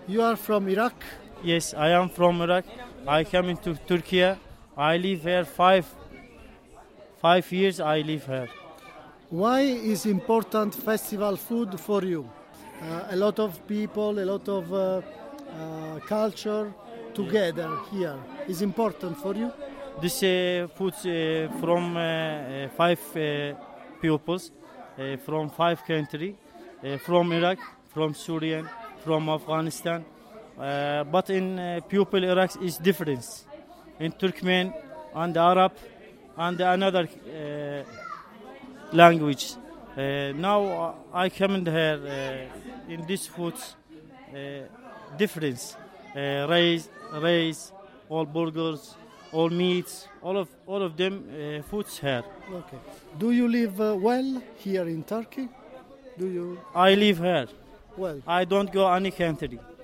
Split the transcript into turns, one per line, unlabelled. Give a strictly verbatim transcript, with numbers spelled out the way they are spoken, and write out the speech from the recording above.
You are from Iraq?
Yes, I am from Iraq. I came into Turkey. I live here five five years. I live here.
Why is important festival food for you? Uh, a lot of people, a lot of uh, uh, culture together here is important for you?
This uh, food uh, from uh, uh, five uh, pupils uh, from five countries, uh, from Iraq, from Syria, from Afghanistan. Uh, but in uh, pupil Iraq is difference. In Turkmen and Arab and another uh, language. Uh, now uh, I come in here uh, in this food uh, difference. Uh, rice, rice, all burgers, all meats, all of all of them uh, foods here.
Okay. Do you live uh, well here in Turkey? Do you?
I live here.
Well.
I don't go any country.